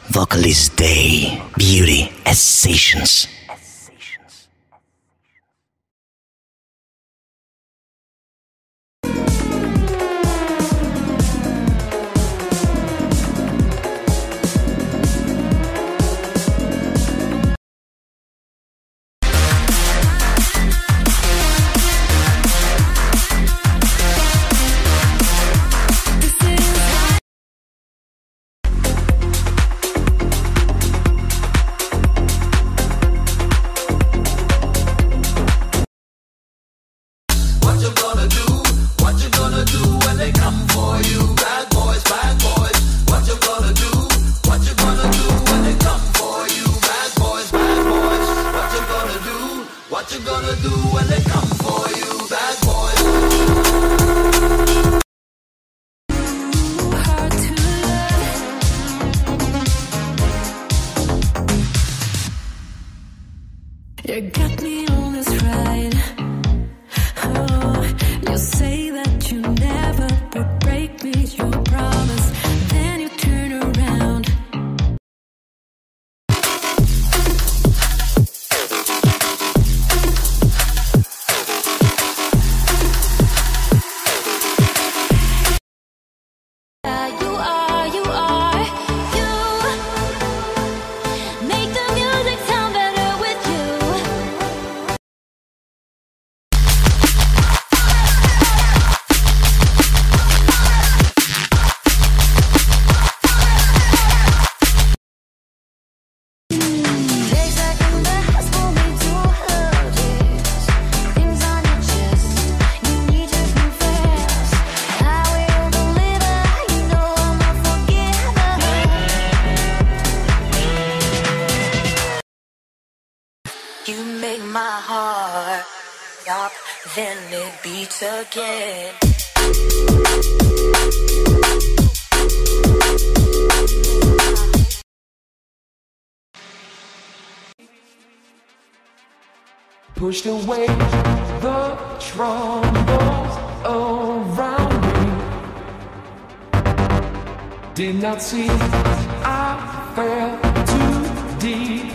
Vocalist Day, Beauty as Sessions. You got me on this ride. Oh, you say that you never would break me, your promise. Then you turn around. Make the music sound better with you. Takes like a blast for me to hurt it. Things on your chest, you need to confess. I will deliver, you know I'm a forgiver. You make my heart stop, then it beats again. Pushed away the troubles around me. Did not see I fell too deep